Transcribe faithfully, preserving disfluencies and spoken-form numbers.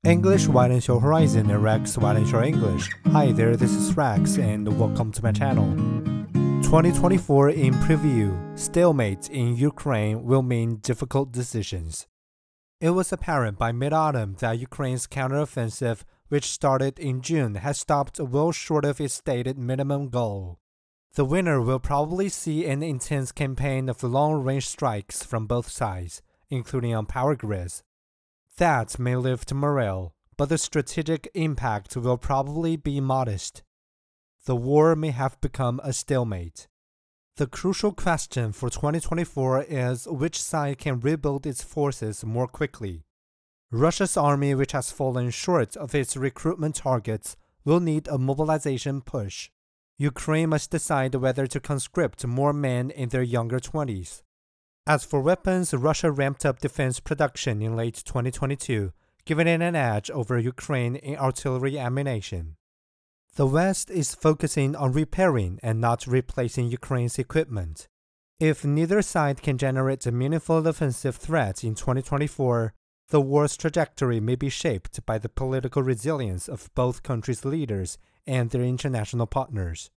English widens your horizon and Rex widens your English. Hi there, this is Rex and welcome to my channel. twenty twenty-four in preview, stalemate in Ukraine will mean difficult decisions. It was apparent by mid-autumn that Ukraine's counteroffensive, which started in June, has stopped well short of its stated minimum goal. The winter will probably see an intense campaign of long-range strikes from both sides, including on power grids. That may lift morale, but the strategic impact will probably be modest. The war may have become a stalemate. The crucial question for twenty twenty-four is which side can rebuild its forces more quickly. Russia's army, which has fallen short of its recruitment targets, will need a mobilization push. Ukraine must decide whether to conscript more men in their younger twenties. As for weapons, Russia ramped up defense production in late twenty twenty-two, giving it an edge over Ukraine in artillery ammunition. The West is focusing on repairing and not replacing Ukraine's equipment. If neither side can generate a meaningful offensive threat in twenty twenty-four, the war's trajectory may be shaped by the political resilience of both countries' leaders and their international partners.